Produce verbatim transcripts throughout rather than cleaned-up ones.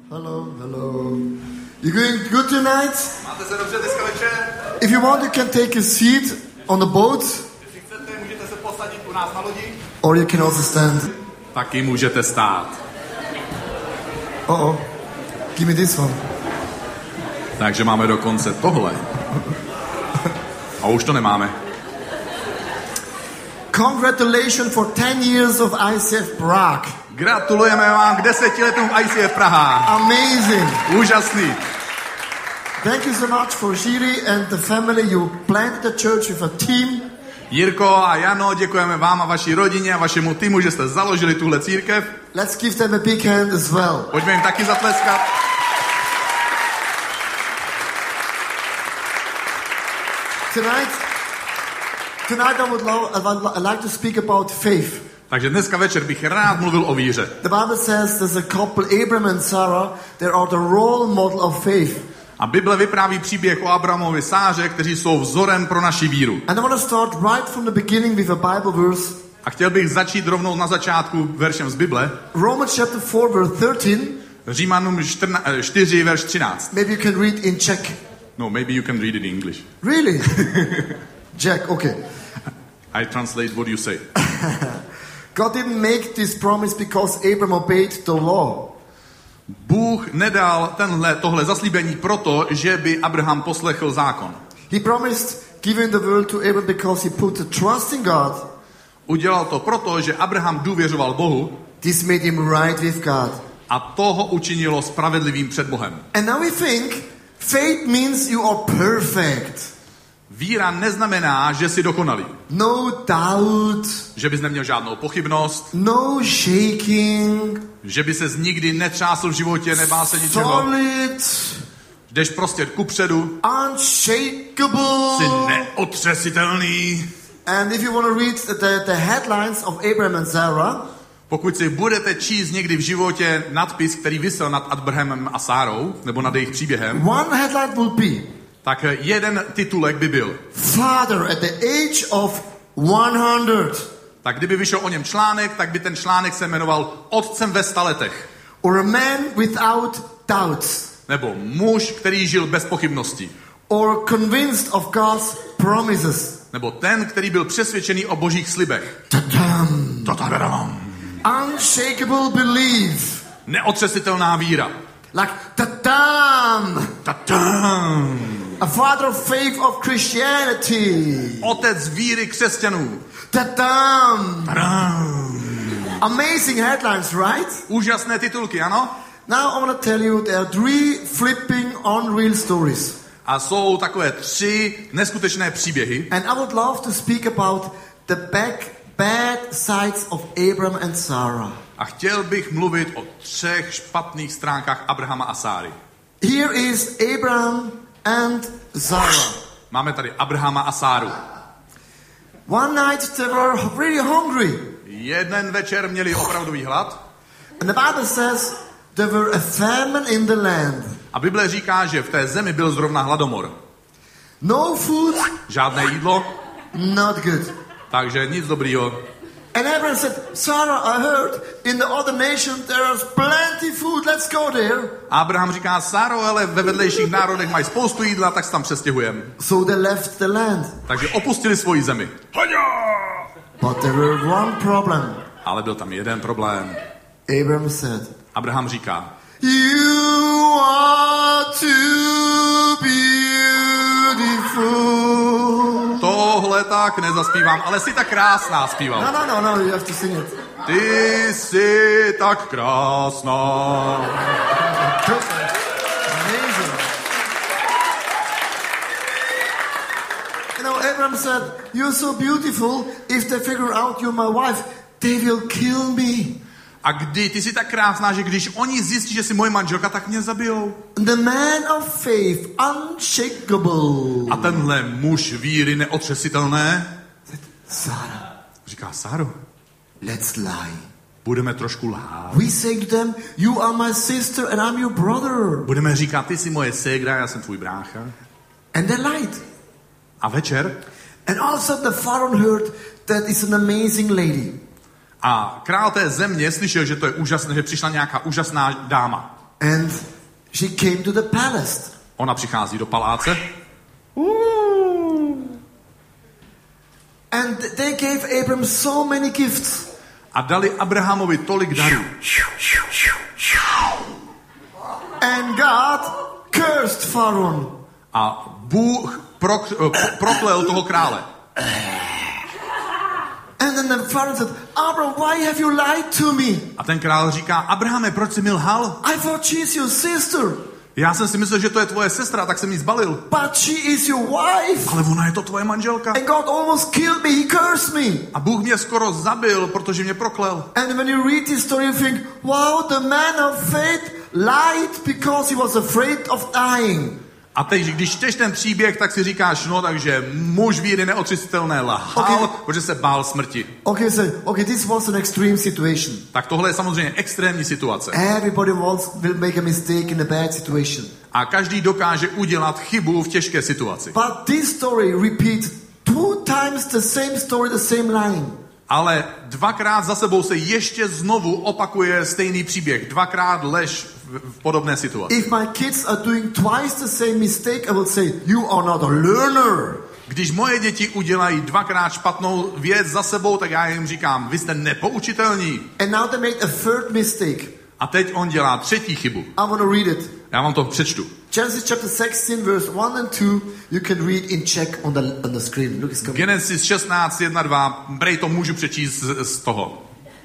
Hello, hello. You doing good tonight? Máte se dobře dneska večer? If you want, you can take a seat on the boat. Jestli chcete, můžete se posadit u nás na lodi. Or you can also stand. Taky můžete stát. Uh-oh. Give me this one. Takže máme dokonce tohle. A už to nemáme. Congratulations for ten years of I C F Prague. Gratulujeme vám k deseti letům I C F Praha. Amazing. Úžasný. Thank you so much for Jiri and the family. You planted the church with a team. Jirko a Jano, děkujeme vám a vaší rodině a vašemu týmu, že jste založili tuhle církev. Let's give them a big hand as well. Pojďme jim taky zatleskat. Tonight, tonight I would lo- I would li- like to speak about faith. Takže dneska večer bych rád mluvil o víře. The Bible says there's a couple, Abraham and Sarah, they are the role model of faith. A Bible vypráví příběh o Abrahamovi Sáře, kteří jsou vzorem pro naši víru. And I want to start right from the beginning with a Bible verse. A chtěl bych začít rovnou na začátku veršem z Bible. Romans chapter four verse thirteen. Římanům čtyři, verš třináct. Maybe you can read in Czech. No, maybe you can read it in English. Really? Czech, okay. I translate what you say. God didn't make this promise because Abraham obeyed the law. Bůh nedal tenhle, tohle zaslíbení proto, že by Abraham poslechl zákon. He promised giving the world to Abraham because he put the trust in God. Udělal to proto, že Abraham důvěřoval Bohu. This made him right with God. A to ho učinilo spravedlivým před Bohem. And now we think faith means you are perfect. Víra neznamená, že jsi dokonalý. No doubt. Že bys neměl žádnou pochybnost. No shaking. Že by ses nikdy netřásl v životě, nebál se ničeho. Solid. Jdeš prostě kupředu. Unshakable. Jsi neotřesitelný. And if you want to read the, the headlines of Abraham and Sarah, pokud si budete číst někdy v životě nadpis, který visel nad Abrahamem a Sárou, nebo nad jejich příběhem, one headline will be, tak jeden titulek by byl Father at the age of one hundred. Tak kdyby vyšel o něm článek, tak by ten článek se jmenoval Otcem ve sta letech. Or a man without doubts. Nebo muž, který žil bez pochybností. Or convinced of God's promises. Nebo ten, který byl přesvědčený o božích slibech. Ta-dam. Ta-ta-da-dam. Unshakable belief. Neotřesitelná víra. Like ta-dam. Ta-dam. A father of faith of Christianity. Otec víry křesťanů. Ta-dam. Ta-dam. Amazing headlines, right? Úžasné titulky, ano? Now I want to tell you there are three flipping unreal stories. A jsou takové tři neskutečné příběhy. And I would love to speak about the back, bad sides of Abraham and Sarah. A chtěl bych mluvit o třech špatných stránkách Abrahama a Sáry. Here is Abraham and Sarah. Máme tady Abrahama a Sáru. One night they were really hungry. Jeden večer měli opravdový hlad. And the Bible says there were a famine in the land. A Bible říká, že v té zemi byl zrovna hladomor. No food. Žádné jídlo. Not good. Takže nic dobrýho. And Abraham said, Sarah, I heard in the other nation there is plenty food. Let's go there. Abraham říká, Sáro, ale ve vedlejších národech mají spoustu jídla, tak se tam přestěhujeme. So they left the land. Takže opustili svoji zemi. But there were one problem. Ale byl tam jeden problém. Abraham said, Abraham říká, you are too beautiful. tohle tak nezaspívám, ale jsi tak krásná, zpíval. No, no, no, no, you have to sing it. Ty jsi tak krásná. Amazing. You know, Abraham said, you're so beautiful, if they figure out you're my wife, they will kill me. A kdy ty jsi tak krásná, že když oni zjistí, že jsi moje manželka, tak mě zabijou. The man of faith, unshakable. A tenhle muž víry neotřesitelné Sarah, říká, Sáro, let's lie. budeme trošku lhát. We say to them, you are my sister and I'm your brother. Budeme říkat, ty jsi moje ségra, já jsem tvůj brácha. And they lied. A večer And also the Pharaoh heard that is an amazing lady. A král té země slyšel, že to je úžasné, že přišla nějaká úžasná dáma. And she came to the palace. Ona přichází do paláce. And they gave Abram so many gifts. A dali Abrahamovi tolik darů. And God cursed Pharaoh. A Bůh prok, proklel toho krále. And then the Pharaoh said, Abram, why have you lied to me? A ten král říká, Abrahame, proč jsi mi lhal? I thought she's your sister. Já jsem si myslel, že to je tvoje sestra, tak jsem jí zbalil. But she is your wife. Ale ona je to tvoje manželka. And God almost killed me. He cursed me. A Bůh mě skoro zabil, protože mě proklel. And when you read this story, you think, wow, the man of faith lied because he was afraid of dying. A teď, když čteš ten příběh, tak si říkáš, no takže muž víry neotřesitelné lhal, Okay. protože se bál smrti. Okay, so okay, this was an extreme situation. Tak tohle je samozřejmě extrémní situace. Everybody wants, will make a mistake in a bad situation. A každý dokáže udělat chybu v těžké situaci. But this story repeats two times the same story, the same line. Ale dvakrát za sebou se ještě znovu opakuje stejný příběh. Dvakrát lež v, v podobné situaci. If my kids are doing twice the same mistake, I will say, you are not a learner. Když moje děti udělají dvakrát špatnou věc za sebou, tak já jim říkám, vy jste nepoučitelní. And now they made a third mistake. A teď on dělá třetí chybu. I want to read it. Já vám to přečtu. Genesis chapter sixteen, verse one and two, you can read in Czech on the, on the screen. Look, it's coming. Genesis šestnáct, jedna, dva, brej to můžu přečíst z, z toho.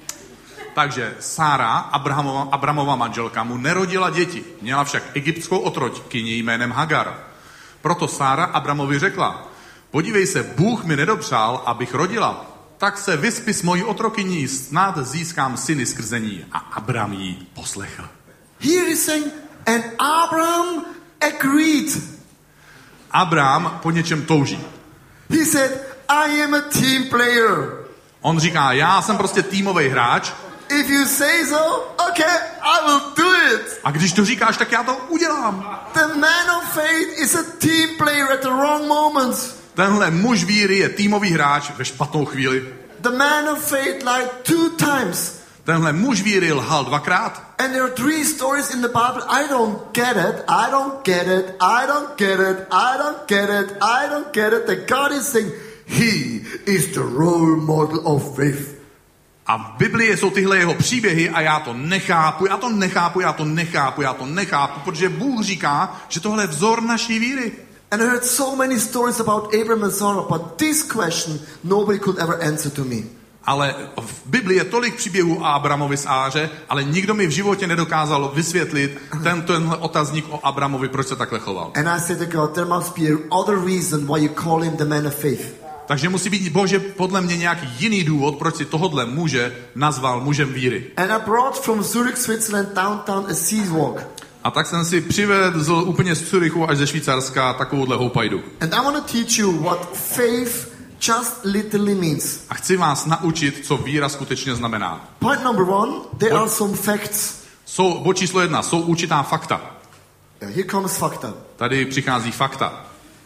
Takže Sára, Abrahamova, Abramova manželka, mu nerodila děti. Měla však egyptskou otrokyni jménem Hagar. Proto Sára Abramovi řekla, podívej se, Bůh mi nedopřál, abych rodila. Tak se vyspí s mojí otrokyní, snad získám syny skrze ní. A Abram jí poslechl. Here is saying, and Abraham agreed. Abram po něčem touží. He said, I am a team player. On říká, já jsem prostě týmový hráč. If you say so, okay, I will do it. A když to říkáš, tak já to udělám. The man of faith is a team player at the wrong moments. Tenhle muž víry je týmový hráč ve špatnou chvíli. The man of faith lied two times. Tenhle muž víry lhal dvakrát. And there are three stories in the Bible. I don't get it. I don't get it. I don't get it. I don't get it. I don't get it. That God is saying, He is the role model of faith. A v Biblii jsou tyhle jeho příběhy a já to nechápu, já to nechápu, já to nechápu, já to nechápu, protože Bůh říká, že tohle je vzor naší víry. And I heard so many stories about Abraham and Sarah, but this question nobody could ever answer to me. Ale v Biblii je tolik příběhů o Abramovi s Áře, ale nikdo mi v životě nedokázal vysvětlit ten, tenhle otazník o Abramovi, proč se takhle choval. And I said to God, there must be another reason why you call him the man of faith. Takže musí být, Bože, podle mě nějaký jiný důvod, proč si tohodle muže nazval mužem víry. And I brought from Zurich, Switzerland, downtown a sea walk. A tak jsem si přivedl úplně z Curychu až ze Švýcarska takovouhle houpajdu. And I want to teach you what faith just literally means. A chci vás naučit, co víra skutečně znamená. Point number one, there are some facts. Jsou, bod číslo jedna, jsou určitá fakta. Yeah, here comes fakta. Tady přichází fakta.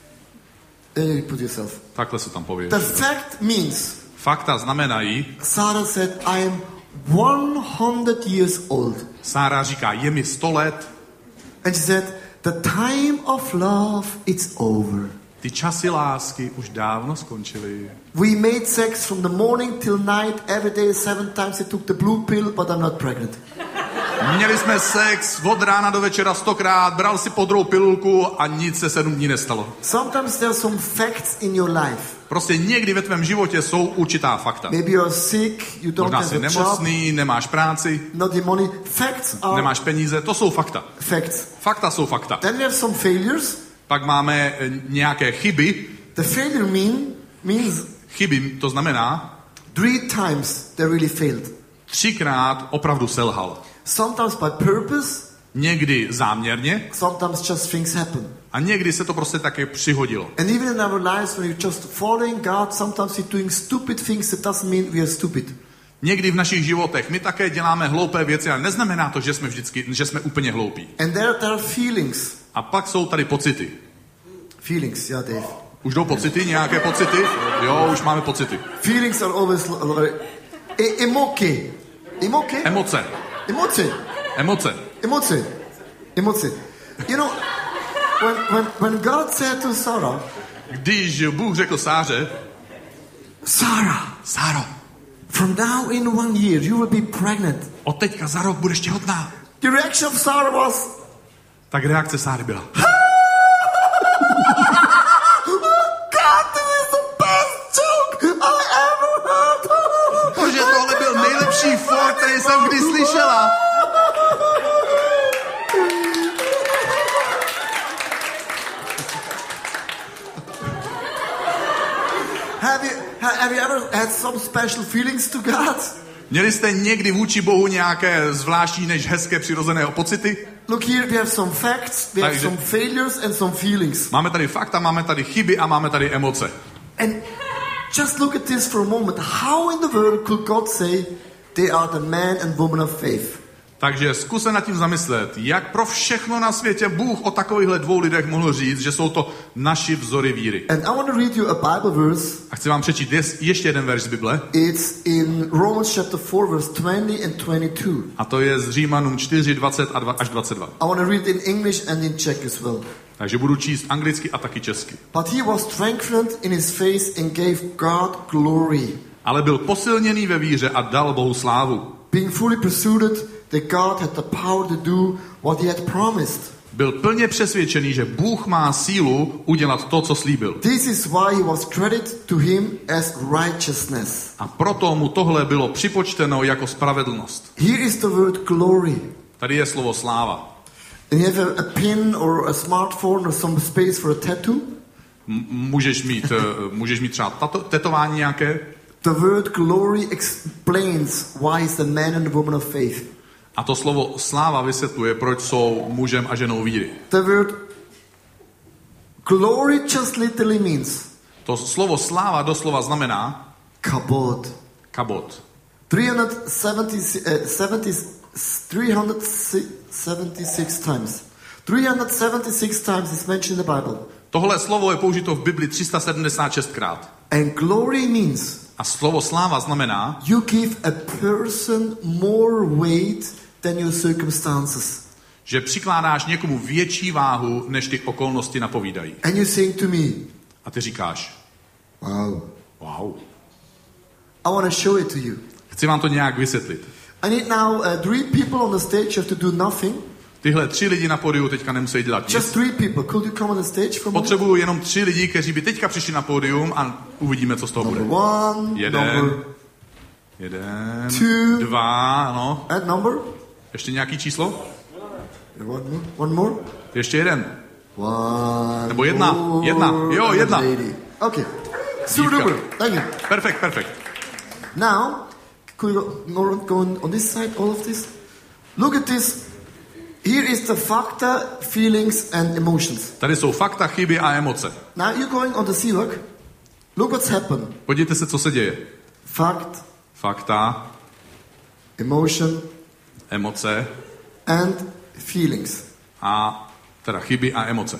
There you put yourself. Takhle se tam pověří. The fact means, Fakta znamenají, Sarah said, I am one hundred years old. Sára říká, je mi sto let, And she said, the time of love, it's over. ty časy lásky už dávno skončily. We made sex from the morning till night, every day, seven times. I took the blue pill, but I'm not pregnant. Měli jsme sex od rána do večera stokrát, bral si podrou pilulku a nic se sedm dní nestalo. Sometimes there are some facts in your life. Prostě někdy ve tvém životě jsou určitá fakta. Maybe you're sick, you don't Možná have jsi a job, nemocný, nemáš práci, not the money. Facts are nemáš peníze, to jsou fakta. facts. Fakta jsou fakta. Then we have some failures. Pak máme eh, nějaké chyby. The failure mean means Chyby, to znamená, three times they really failed. třikrát opravdu selhal. Sometimes by purpose, Někdy záměrně sometimes just things happen. a někdy se to prostě také přihodilo. And even in our lives, when you're just following God, sometimes we're doing stupid things. That doesn't mean we are stupid. Někdy v našich životech my také děláme hloupé věci, ale neznamená to, že jsme vždycky, že jsme úplně hloupí. And there, there are feelings. A pak jsou tady pocity. Feelings, yeah, Dave. Už jdou pocity, nějaké pocity? Jo, už máme pocity. Feelings are always very e- emoki. Emoki? Emoce. Emoci. Emoce. Emoci. Emoci. You know, when, when, when God said to Sarah, Když Bůh řekl Sáře, Sarah, Sáro, from now in one year you will be pregnant. od teďka za rok budeš těhotná. The reaction of Sarah was, Tak reakce Sáry byla. God, this is the best joke I ever heard. Bože, tohle byl nejlepší for, který jsem kdy slyšela. Have you, ha- have you ever had some special feelings to God? Měli jste někdy vůči Bohu nějaké zvláštní než hezké přirozené pocity? Look here, we have some facts, we have Takže- some failures and some feelings. Máme tady fakta, máme tady chyby a máme tady emoce. And just look at this for a moment. How in the world could God say they are the man and woman of faith? Takže zkus se nad tím zamyslet, jak pro všechno na světě Bůh o takovýchhle dvou lidech mohl říct, že jsou to naši vzory víry. And I want to read you a Bible verse. A chci vám přečíst jest- ještě jeden verš z Bible. It's in Romans chapter four, verse twenty and twenty-two. A to je z Římanům čtyři, dvacet a dva až dvacet dva. I want to read in English and in Czech as well. Takže budu číst anglicky a taky česky. But he was strengthened in his faith and gave God glory, Ale byl posilněný ve víře a dal Bohu slávu. being fully persuaded that God had the power to do what he had promised. Byl plně přesvědčený, že Bůh má sílu udělat to, co slíbil. This is why he was credited to him as righteousness. A proto mu tohle bylo připočteno jako spravedlnost. Here is the word glory. Tady je slovo sláva. And you have a, a pin or a smartphone or some space for a tattoo. M- můžeš mít, eh, můžeš mít třeba tato, tetování nějaké. The word glory explains why is the man and the woman of faith. A to slovo sláva vysvětluje, proč jsou mužem a ženou víry. The word glory just literally means To slovo sláva doslova znamená kabod. kabot. three hundred seventy, uh, seventy, three hundred seventy-six times. three hundred seventy-six times is mentioned in the Bible. Tohle slovo je použito v Bibli tři sta sedmdesát šest krát. And glory means A slovo sláva znamená, you give a person more weight than your circumstances. že přikládáš někomu větší váhu, než ty okolnosti napovídají. And you saying to me, A ty říkáš, wow, wow, I want to show it to you. chci vám to nějak vysvětlit. I need now uh, three people on the stage. You have to do nothing. Tyhle tři lidi na pódiu teďka nemusí dělat Just nic. three people. Could you come on the stage for a moment? Potřebuju jenom tři lidi, kteří by teďka přišli na pódium a uvidíme, co z toho bude. Number one, Jeden, number jeden, two. dva, no. and number. Ještě nějaký číslo? One more. One more. Ještě jeden. One. Nebo jedna, more jedna. Jo, jedna. lady. Okay. Super Dívka. duper. Thank you. Perfekt, perfekt. Now, could you go, go on, on this side, all of this? Look at this. Here is the facta, feelings and emotions. Tady jsou fakta, chyby a emoce. Now you're going on the sea work. Look what's happened. Podívejte se, co se děje. Fact, Fakta, emotion emoce and feelings. a teda chyby a emoce.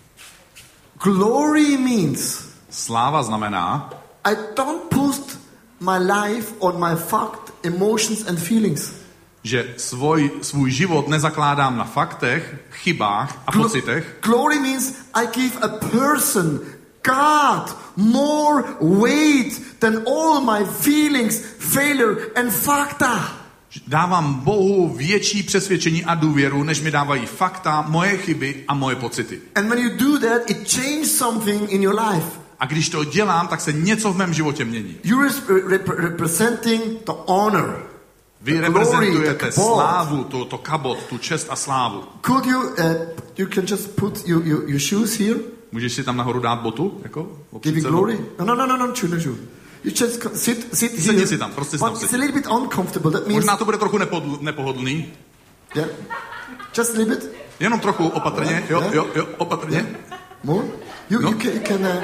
Glory means Sláva znamená, I don't put my life on my fact, emotions and feelings. že svoj, svůj život nezakládám na faktech, chybách a Glo- pocitech, Glory means I give a person, God, more weight than all my feelings, failure and facta. dávám Bohu větší přesvědčení a důvěru, než mi dávají fakta, moje chyby a moje pocity. And when you do that, it changes something in your life. A když to dělám, tak se něco v mém životě mění. You're rep- representing the honor. Vy The glory, reprezentujete the kabod. slávu, to, to kabot, tu čest a slávu. Could you, uh, you can just put your, your, your shoes here? Můžeš si tam nahoru dát botu? Jako, Giving glory? No, no, no, no, no, true, no, true. You just co- sit, sit here. Sedni si tam, prostě si But tam it's a sedni. little bit uncomfortable. That means, Možná to bude trochu nepodl, nepohodlný. yeah, just a little bit Jenom trochu opatrně, jo, jo, jo, opatrně. more. You, No. you can, you can uh,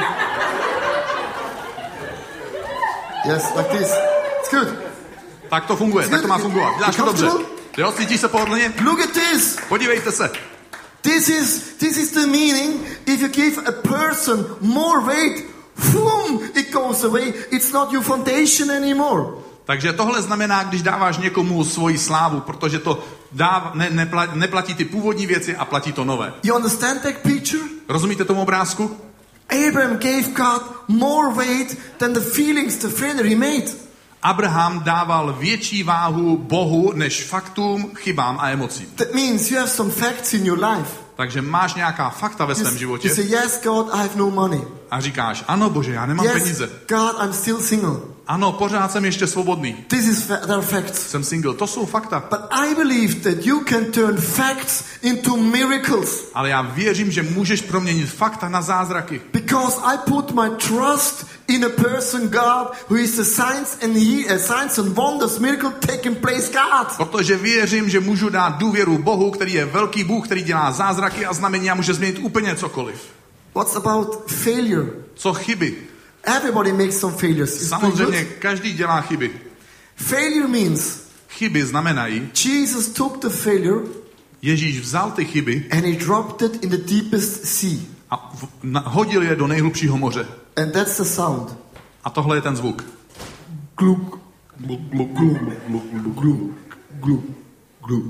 yes, like this. It's good. Tak to funguje, tak to má fungovat. Děláš to dobře. Comfortable? Jo, cítíš se pohodlně? Look at this. Podívejte se. This is this is the meaning. If you give a person more weight, boom, it goes away. It's not your foundation anymore. Takže tohle znamená, když dáváš někomu svoji slávu, protože to dáv, ne, neplatí, neplatí ty původní věci a platí to nové. You understand that picture? Rozumíte tomu obrázku? Abraham gave God more weight than the feelings, the failure he made. Abraham dával větší váhu Bohu než faktům, chybám a emocím. That means you have some facts in your life. Takže máš nějaká fakta ve svém You, životě you say, yes, God, I have no money. a říkáš, ano Bože, já nemám Yes, peníze. God, I'm still single. Ano, pořád jsem ještě svobodný. This is fa- they are facts. Jsem single, to jsou fakta. But I believe that you can turn facts into miracles. Ale já věřím, že můžeš proměnit fakta na zázraky. Because I put my trust in a person, God, who is the signs and he, uh, signs and wonders, miracle taking place, God. Protože věřím, že můžu dát důvěru Bohu, který je velký Bůh, který dělá zázraky a znamení a může změnit úplně cokoliv. What's about failure? Co chyby? Everybody makes some failures. It's Samozřejmě good. každý dělá chyby. Failure means Chyby znamenají, Jesus took the failure Ježíš vzal ty chyby and he dropped it in the deepest sea. a v, na, hodil je do nejhlubšího moře. And that's the sound. A tohle je ten zvuk. Gluk, gluk, gluk, gluk, gluk, gluk, gluk, gluk, gluk,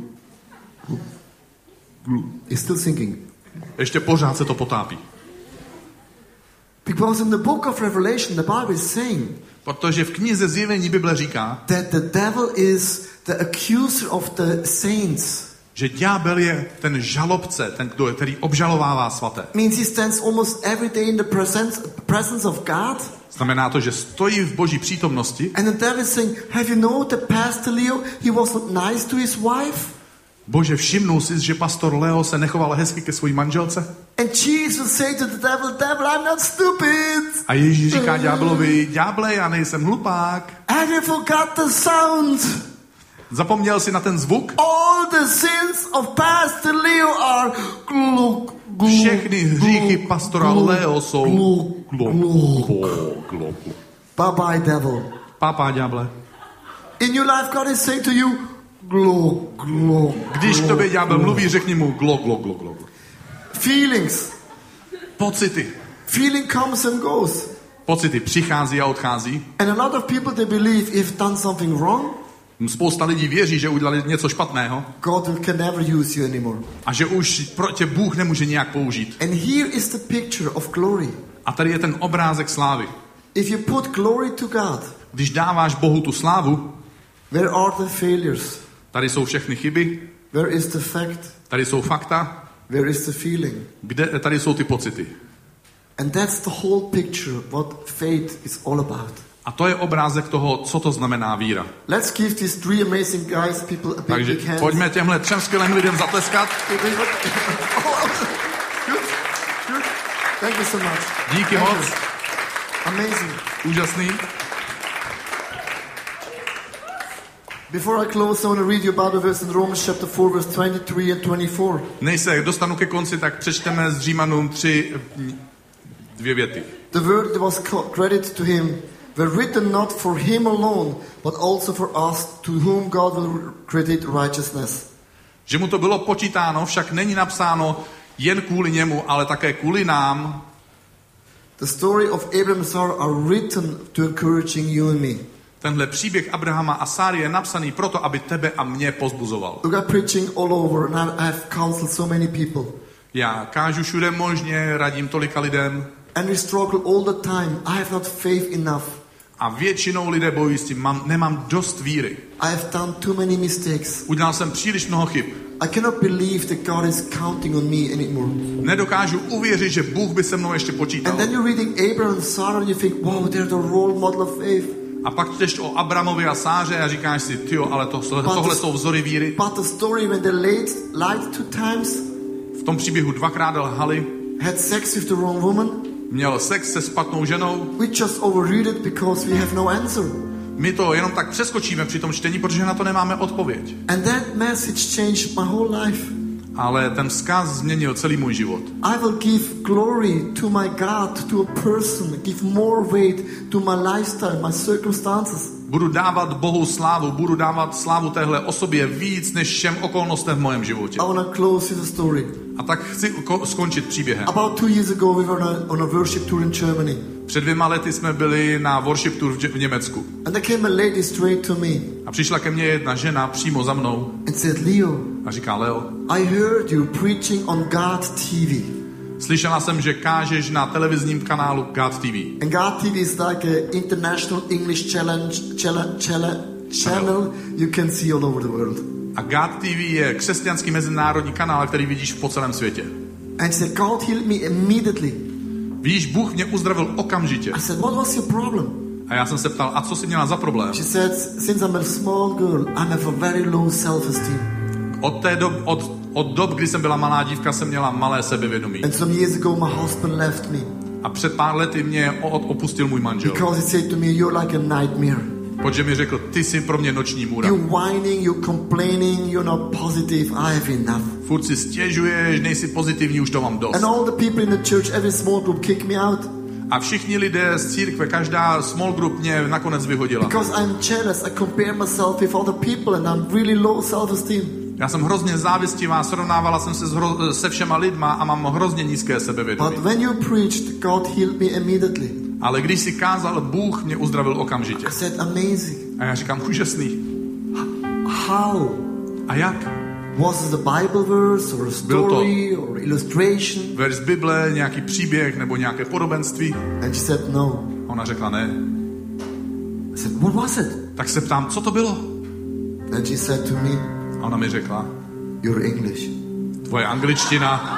gluk. He's still singing. Ještě pořád se to potápí. Because in the book of Revelation, the Bible is saying Protože v knize Zjevení Bible říká, that the devil is the accuser of the saints. že ďábel je ten žalobce, ten, kdo je, který obžalovává svaté. Means he stands almost every day in the presence, presence of God. Znamená to, že stojí v Boží přítomnosti. And the devil is saying, have you known that Pastor Leo, he was not nice to his wife? Bože, všimnul jsi, že pastor Leo se nechoval hezky ke své manželce? And Jesus say to the devil, devil, I'm not stupid. A Ježíš říká ďáblovi, ďáble, já nejsem hlupák. Have you forgot the sound? Zapomněl jsi na ten zvuk? All the sins of Pastor Leo are gluk, gluk, Všechny hříchy gluk, pastora gluk, Leo jsou gluk, gluk, gluk. gluk, gluk. Bye bye, devil. Pápá ďáble. In your life, God is saying to you, gluk, gluk. Když k gluk, tobě ďábel gluk. mluví, řekni mu glok, glok, glok, glok. Feelings. Pocity. Feeling comes and goes. Pocity přichází a odchází. And a lot of people, they believe if done something wrong, Spousta lidí věří, že udělali něco špatného God will- can never use you anymore. a že už pro tě Bůh nemůže nějak použít. And here is the picture of glory. A tady je ten obrázek slávy. If you put glory to God, Když dáváš Bohu tu slávu, where are the failures? tady jsou všechny chyby, Where is the fact? tady jsou fakta, Where is the feeling? kde, tady jsou ty pocity. And that's the whole picture, what faith is all about. A to je obrázek toho, co to znamená víra. Let's give these three amazing guys, people, a big, Takže big hand. pojďme těmhle třem skvělým lidem zatleskat. Good, good. Thank you so much. Díky Thank moc. you. Amazing. Úžasný. Before I close, I want to read you about a verse in Romans chapter four, verse twenty-three and twenty-four. Než se dostanu ke konci, tak přečteme z Římanům tři dvě věty. The word that was credited to him were written not for him alone, but also for us, to whom God will credit righteousness. Že mu to bylo počítáno, však není napsáno jen kvůli němu, ale také kvůli nám. The story of Abraham and Sarah are written to encouraging you and me. Tenhle příběh Abrahama a Sáry je napsaný proto, aby tebe a mě pozbuzoval. Look, I'm preaching all over, and I have counseled so many people. Já kážu všude možně, radím tolika lidem And we struggle all the time. I have not faith enough. a většinou lidé bojují s tím, mám, nemám dost víry. I have done too many mistakes. Udělal jsem příliš mnoho chyb. I cannot believe that God is counting on me anymore. Nedokážu uvěřit, že Bůh by se mnou ještě počítal. And then you're reading Abraham and Sarah and you think, wow, they're the role model of faith. A pak čteš o Abramovi a Sáře a říkáš si, tyjo, ale to, tohle jsou vzory víry. But the story when they lied, lied two times, V tom příběhu dvakrát lhali, had sex with the wrong woman, měl sex se špatnou ženou. we just overread it because we have no answer. My to jenom tak přeskočíme při tom čtení, protože na to nemáme odpověď. And that message changed my whole life. Ale ten vzkaz změnil celý můj život. I will give glory to my God, to a person, give more weight to my lifestyle, my circumstances. Budu dávat Bohu slávu, budu dávat slávu téhle osobě víc než všem okolnostem v mém životě. I want to close with a story. A tak chci ko- skončit příběhem. About two years ago, we were on a, on a worship tour in Germany. Před dvěma lety jsme byli na worship tour v, v Německu. And there came a lady straight to me. A přišla ke mně jedna žena přímo za mnou. And said, Leo, A říká, Leo, I heard you preaching on God T V. slyšela jsem, že kážeš na televizním kanálu God T V. And God T V is like an international English challenge, challenge, challenge, channel you can see all over the world. A God T V je křesťanský mezinárodní kanál, který vidíš po celém světě. And she said, God healed me immediately. Víš, Bůh mě uzdravil okamžitě. I said, what was your problem? A já jsem se ptal, a co jsi měla za problém? She said, since I'm a small girl, I have a very low self-esteem. Od té dob, od, od dob, kdy jsem byla malá dívka, jsem měla malé sebevědomí. And some years ago, my husband left me. A před pár lety mě opustil můj manžel. Because he said to me, you're like a nightmare. Protože mi řekl, ty jsi pro mě noční můra. You're whining, you're complaining, you're not positive. I have enough. Furt si stěžuješ, nejsi pozitivní, už to mám dost. And all the people in the church, every small group kicked me out. A všichni lidé z církve, každá small group mě nakonec vyhodila. Because I'm jealous, I compare myself with other people and I'm really low self-esteem. Já jsem hrozně závistivá, srovnávala jsem se hro, se všema lidma a mám hrozně nízké sebevědomí. But when you preached, God healed me immediately. Ale když si kázal, Bůh mě uzdravil okamžitě. I said, amazing. A já říkám, úžasný. How? A jak? Was it a Bible verse or a story or illustration? Verš Bible, nějaký příběh nebo nějaké podobenství? And she said, no. A ona řekla ne. I said, what was it? Tak se ptám, co to bylo? And she said to me, A ona mi řekla, your English. tvoje angličtina.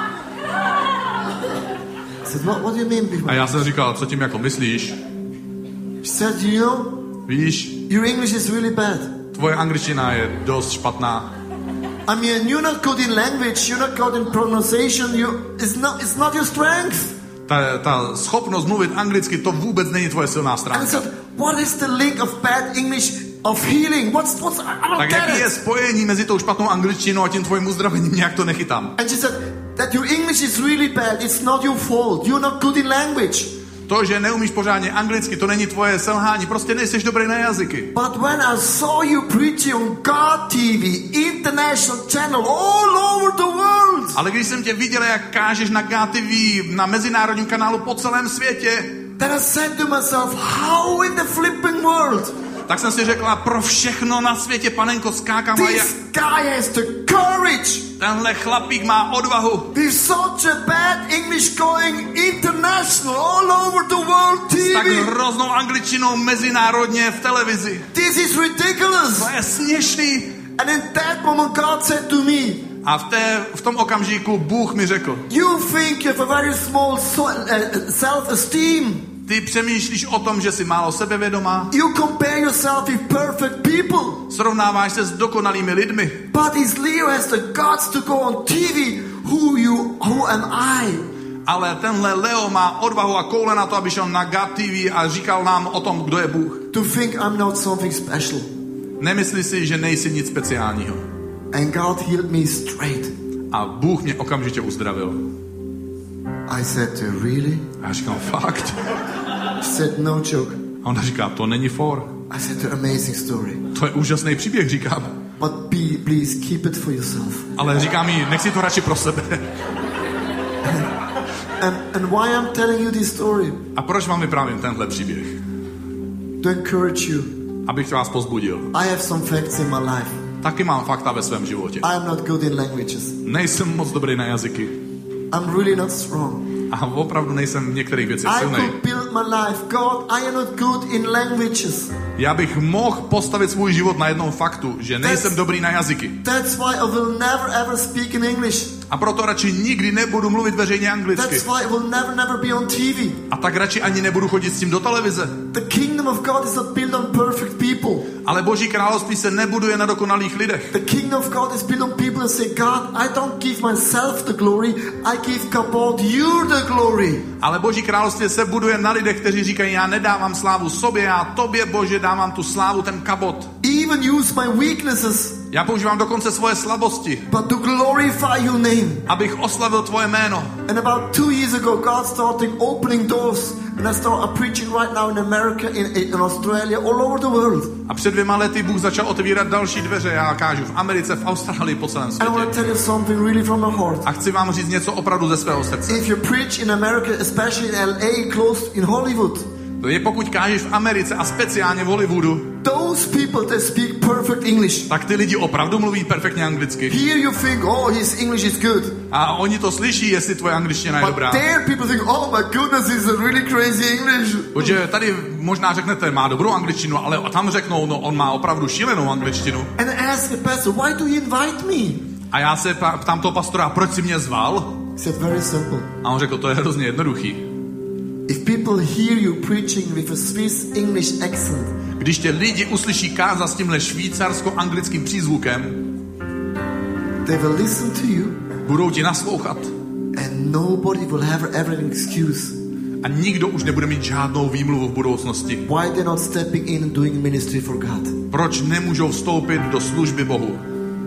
I said, what, what do you mean? A já jsem říkal, co tím jako myslíš? She said, you know, Víš, your English is really bad. tvoje angličtina je dost špatná. I mean, you're not good in language, you're not good in pronunciation, you, it's, not, it's not your strength. Ta, ta schopnost mluvit anglicky, to vůbec není tvoje silná And I stránka. said, what is the link of bad English of healing? What's, what's, I don't Tak get jaký je it. spojení mezi tou špatnou angličtinou a tím tvojím uzdravením? Nějak to nechytám. And she said, that your English is really bad, it's not your fault. You're not good in language. To, že neumíš pořádně anglicky, to není tvoje selhání, prostě nejseš dobrý na jazyky. But when I saw you preaching on God T V, international channel, all over the world, Ale když jsem tě viděl, jak kážeš na God T V, na mezinárodním kanálu po celém světě, then I said to myself, how in the flipping world? tak jsem si řekla, pro všechno na světě, panenko, skákám a jak This guy has the courage tenhle chlapík má odvahu. with such a bad English going international all over the world S tak T V. hroznou angličtinou mezinárodně v televizi. This is ridiculous. To je směšný. And in that moment God said to me, A v, té, v tom okamžiku Bůh mi řekl, you think you have a very small so, uh, self-esteem. ty přemýšlíš o tom, že jsi málo sebevědomá, You compare yourself with perfect people. srovnáváš se s dokonalými lidmi, But this Leo has the guts to go on T V. Who you, who am I? ale tenhle Leo má odvahu a koule na to, aby šel na God T V a říkal nám o tom, kdo je Bůh. To think I'm not something special. Nemyslí si, že nejsi nic speciálního. And God healed me straight. A Bůh mě okamžitě uzdravil. I said to her, really? A já říkám, fakt? She said, no joke. A ona říká, to není for. I said to her, amazing story. To je úžasný příběh, říkám. But be, please keep it for yourself. Ale říkám jí, nech si to radši pro sebe. And, and why I'm telling you this story? A proč vám vyprávím tenhle příběh? To encourage you. Abych vás pozbudil. I have some facts in my life. Taky mám fakta ve svém životě. I am not good in languages. Nejsem moc dobrý na jazyky. I'm really not strong. A opravdu nejsem v některých věcech I silný. could build my life. God, I am not good in languages. Já bych mohl postavit svůj život na jednom faktu, že nejsem dobrý na jazyky. That's why I will never ever speak in English. A proto radši nikdy nebudu mluvit veřejně anglicky. That's why I will never, never be on T V. A tak radši ani nebudu chodit s tím do televize. The kingdom of God is not built on perfect people. Ale Boží království se nebuduje na dokonalých lidech. The kingdom of God is built on people who say, God, I don't give myself the glory, I give God you the glory. Ale Boží království se buduje na lidech, kteří říkají, já nedávám slávu sobě, já tobě, Bože, dávám tu slávu, ten kabot. Even use my weaknesses Já používám dokonce svoje slabosti, but to glorify your name. abych oslavil tvoje jméno. And about two years ago, God started opening doors, and I started preaching right now in America, in, in Australia, all over the world. A před dvěma lety Bůh začal otevírat další dveře. Já kážu v Americe, v Austrálii, po celém And I want světě. to tell you something really from my heart. A chci vám říct něco opravdu ze svého srdce. If you preach in America, especially in L A, close in Hollywood, To je, pokud kážeš v Americe a speciálně v Hollywoodu, those people that speak perfect English. tak ty lidi opravdu mluví perfektně anglicky. Here you think, oh, his English is good. A oni to slyší, jestli tvoje angličtina je But dobrá. there people think, oh my goodness, he's a really crazy English. Protože tady možná řeknete, má dobrou angličtinu, ale tam řeknou, no on má opravdu šílenou angličtinu. And I asked the pastor, why do you invite me? A já se ptám toho pastora, proč si mě zval? He said, very simple. A on řekl, to je hrozně jednoduchý. If people hear you preaching with a Swiss English accent, Když tě lidi uslyší kázat s tímhle švýcarsko-anglickým přízvukem, they will listen to you, budou ti naslouchat and nobody will have ever an excuse a nikdo už nebude mít žádnou výmluvu v budoucnosti. why they're not stepping in and doing ministry for God. Proč nemůžou vstoupit do služby Bohu?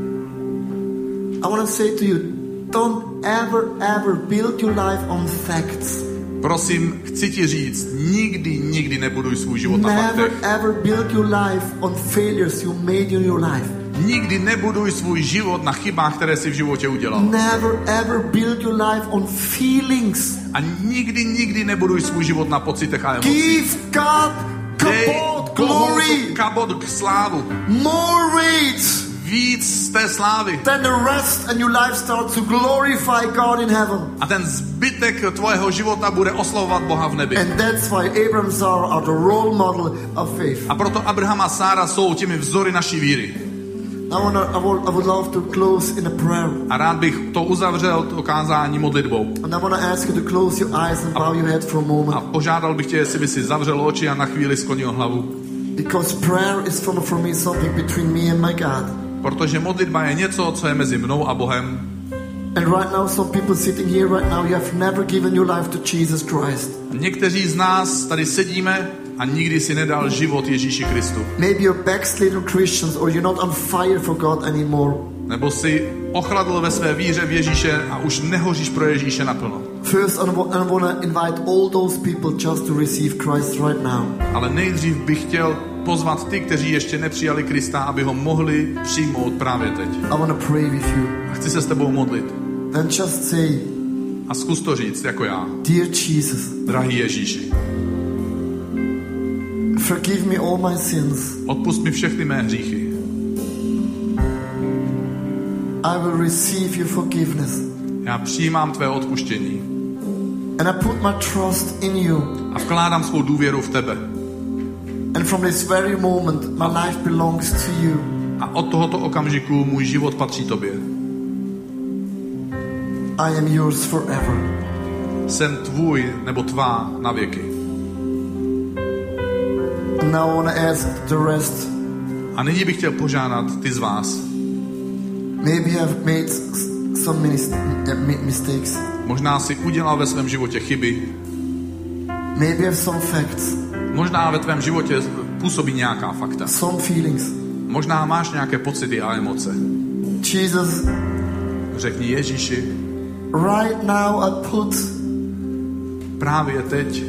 I want to say to you, don't ever, ever build your life on facts. Prosím, chci ti říct, nikdy, nikdy nebuduj svůj život na Never, faktech. ever build your life on failures you made in your life. Nikdy nebuduj svůj život na chybách, které jsi v životě udělal. Never, ever build your life on feelings. A nikdy, nikdy nebuduj svůj život na pocitech a emocích. Give God Dej kabod, Bohu glory, kabod k slávu. more weight Víc z té slávy. then the rest, and your life starts to glorify God in heaven. A ten zbytek tvojeho života bude oslavovat Boha v nebi. And that's why Abraham and Sarah are the role model of faith. A proto Abraham a Sára jsou těmi vzory naší víry. I, wanna, I, would, I would love to close in a prayer. A rád bych to uzavřel, to kázání modlitbou. And I want to ask you to close your eyes and bow your head for a A moment. požádal bych tě, jestli by si zavřel oči a na chvíli sklonil hlavu. Because prayer is for, for me something between me and my God. Protože modlitba je něco, co je mezi mnou a Bohem. And right now, some people sitting here right now, you have never given your life to Jesus Christ. A někteří z nás tady sedíme a nikdy si nedal život Ježíši Kristu. Maybe you're backslidden Christians or you're not on fire for God anymore. Nebo si ochladl ve své víře v Ježíše a už nehoříš pro Ježíše naplno. First, I want to invite all those people just to receive Christ right now. Ale nejdřív bych chtěl pozvat ty, kteří ještě nepřijali Krista, aby ho mohli přijmout právě teď. I want to pray with you. A chci se s tebou modlit. Then just say, A zkus to říct jako já. Dear Jesus, Drahý Ježíši, forgive me all my sins. odpusť mi všechny mé hříchy. I will receive your forgiveness. Já přijímám tvé odpuštění And I put my trust in you. a vkládám svou důvěru v tebe. And from this very moment, my life belongs to you. A od tohoto okamžiku můj život patří tobě. I am yours forever. Jsem tvůj nebo tvá na věky. And now I want to ask the rest. A nyní bych chtěl požádat ty z vás. Maybe you have made s- some mis- uh, mistakes. Možná si udělal ve svém životě chyby. Maybe you have some facts, Možná ve tvém životě působí nějaká fakta. some feelings. Možná máš nějaké pocity a emoce. Jesus, Řekni Ježíši, right now I put právě teď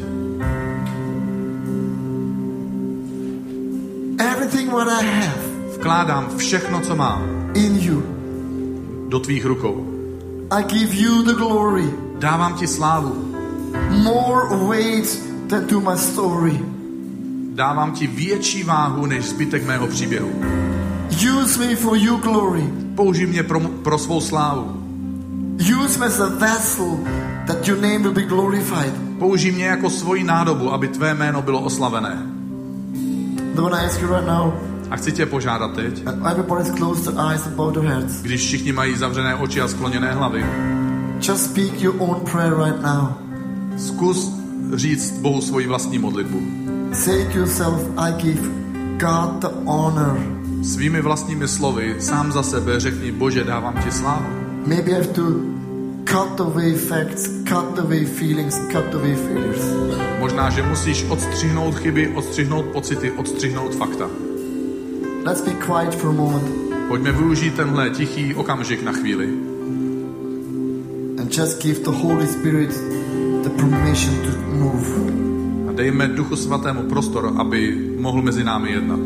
everything what I have vkládám všechno, co mám, in you. do tvých rukou. I give you the glory. Dávám ti slávu. More weight than to my story. Dávám ti větší váhu než zbytek mého příběhu. Use me for your glory. Použij mě pro, pro svou slávu. Use me as a vessel that your name will be glorified. Použij mě jako svoji nádobu, aby tvé jméno bylo oslavené. I want to ask you right now, A chci tě požádat teď, everybody's closed their eyes and bowed their heads. když všichni mají zavřené oči a skloněné hlavy, Just speak your own prayer right now. zkus říct Bohu svoji vlastní modlitbu. Say to yourself, I give God the honor. Svými vlastními slovy, sám za sebe řekni, Bože, dávám ti slávu. Maybe I have to cut away facts, cut away feelings, cut away failures. Možná, že musíš odstřihnout chyby, odstřihnout pocity, odstřihnout fakta. Let's be quiet for a moment. Pojďme využít tenhle tichý okamžik na chvíli. And just give the Holy Spirit the permission to move. A dejme Duchu Svatému prostor, aby mohl mezi námi jednat.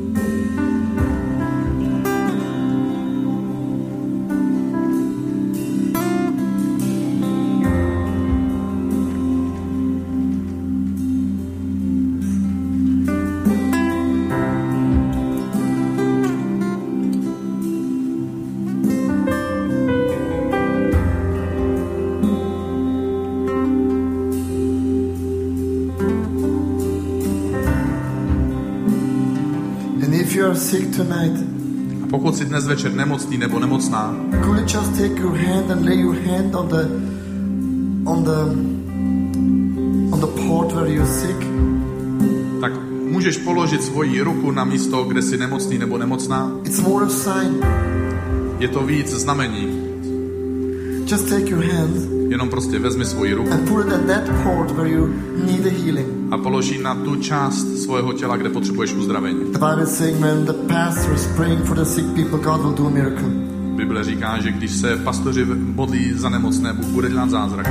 Sick tonight. A pokud jsi dnes večer nemocný nebo nemocná, could you just take your hand and lay your hand on the on the on the part where you're sick? Tak můžeš položit svoji ruku na místo, kde jsi nemocný nebo nemocná. It's more a sign. Je to víc znamení. Just take your hand. Jenom prostě vezmi svoji ruku. And put it at that part where you need a healing. A položí na tu část svého těla, kde potřebuješ uzdravení. The Bible is saying when the pastor is praying for the sick people, God will do a miracle. Bible říká, že když se pastoři modlí za nemocné, Bůh bude dělat zázraky.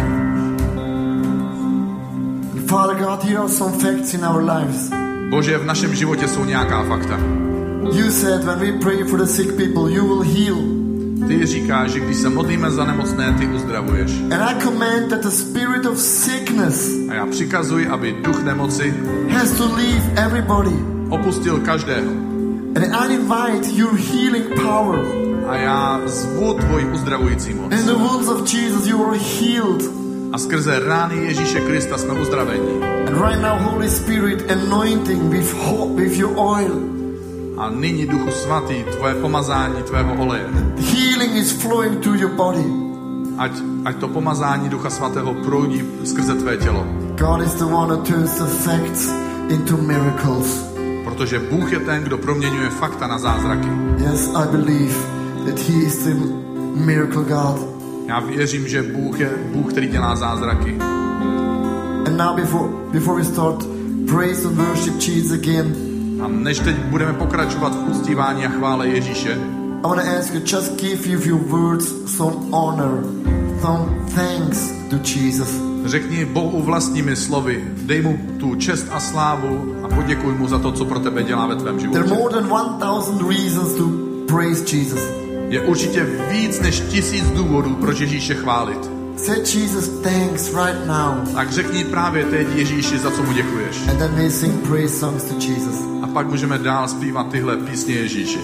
Father God, here are some facts in our lives. Bože, v našem životě jsou nějaká fakta. You said when we pray for the sick people, you will heal. Ty říkáš, že když se modlíme za nemocné, ty uzdravuješ. And I command that the spirit of sickness a já přikazuji, aby duch nemoci has to leave everybody. Opustil každého. And I invite your healing power. A já zvu tvoji uzdravující moc. In the wounds of Jesus you are healed. A skrze rány Ježíše Krista jsme uzdraveni. And right now, Holy Spirit, anointing with hope, with your oil. A nyní, Duchu Svatý, tvoje pomazání tvého oleje. Healing is flowing to your body. Ať, ať to pomazání Ducha Svatého proudí skrze tvé tělo. God is the one who turns the facts into miracles. Protože Bůh je ten, kdo proměňuje fakta na zázraky. Yes, I believe that he is the miracle God. Já věřím, že Bůh je Bůh, který dělá zázraky. And now before before we start praise and worship Jesus again. A než teď budeme pokračovat v uctívání a chvále Ježíše, I want to ask you, just give you your words some honor, some thanks to Jesus. Řekni Bohu vlastními slovy, dej mu tu čest a slávu a poděkuj mu za to, co pro tebe dělá ve tvém životě. There are more than one thousand reasons to praise Jesus. Je určitě víc než tisíc důvodů, proč Ježíše chválit. Say Jesus thanks right now. Tak řekni právě teď Ježíši, za co mu děkuješ. And then we sing praise songs to Jesus. A pak můžeme dál zpívat tyhle písně Ježíši.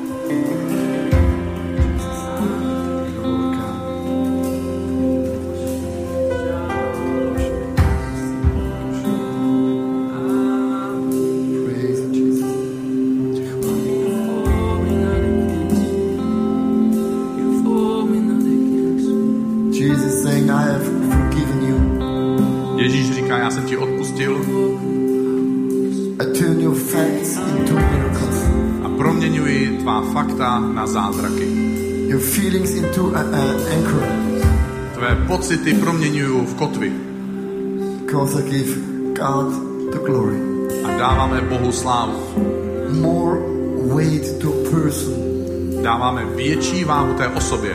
Fakta na zázraky. Your feelings into an anchor. Tvé pocity proměňuju v kotvy. Because I give God the glory. A dáváme Bohu slávu. More weight to a person. Dáváme větší váhu té osobě.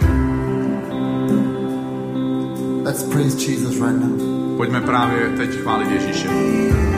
Let's praise Jesus right now. Pojďme právě teď chválit Ježíše.